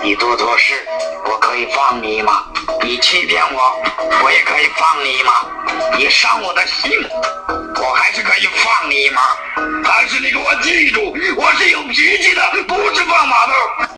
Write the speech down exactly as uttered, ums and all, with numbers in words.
你做错事，我可以放你吗？你欺骗我，我也可以放你吗？你伤我的心，我还是可以放你吗？但是你给我记住，我是有脾气的，不是放马屁。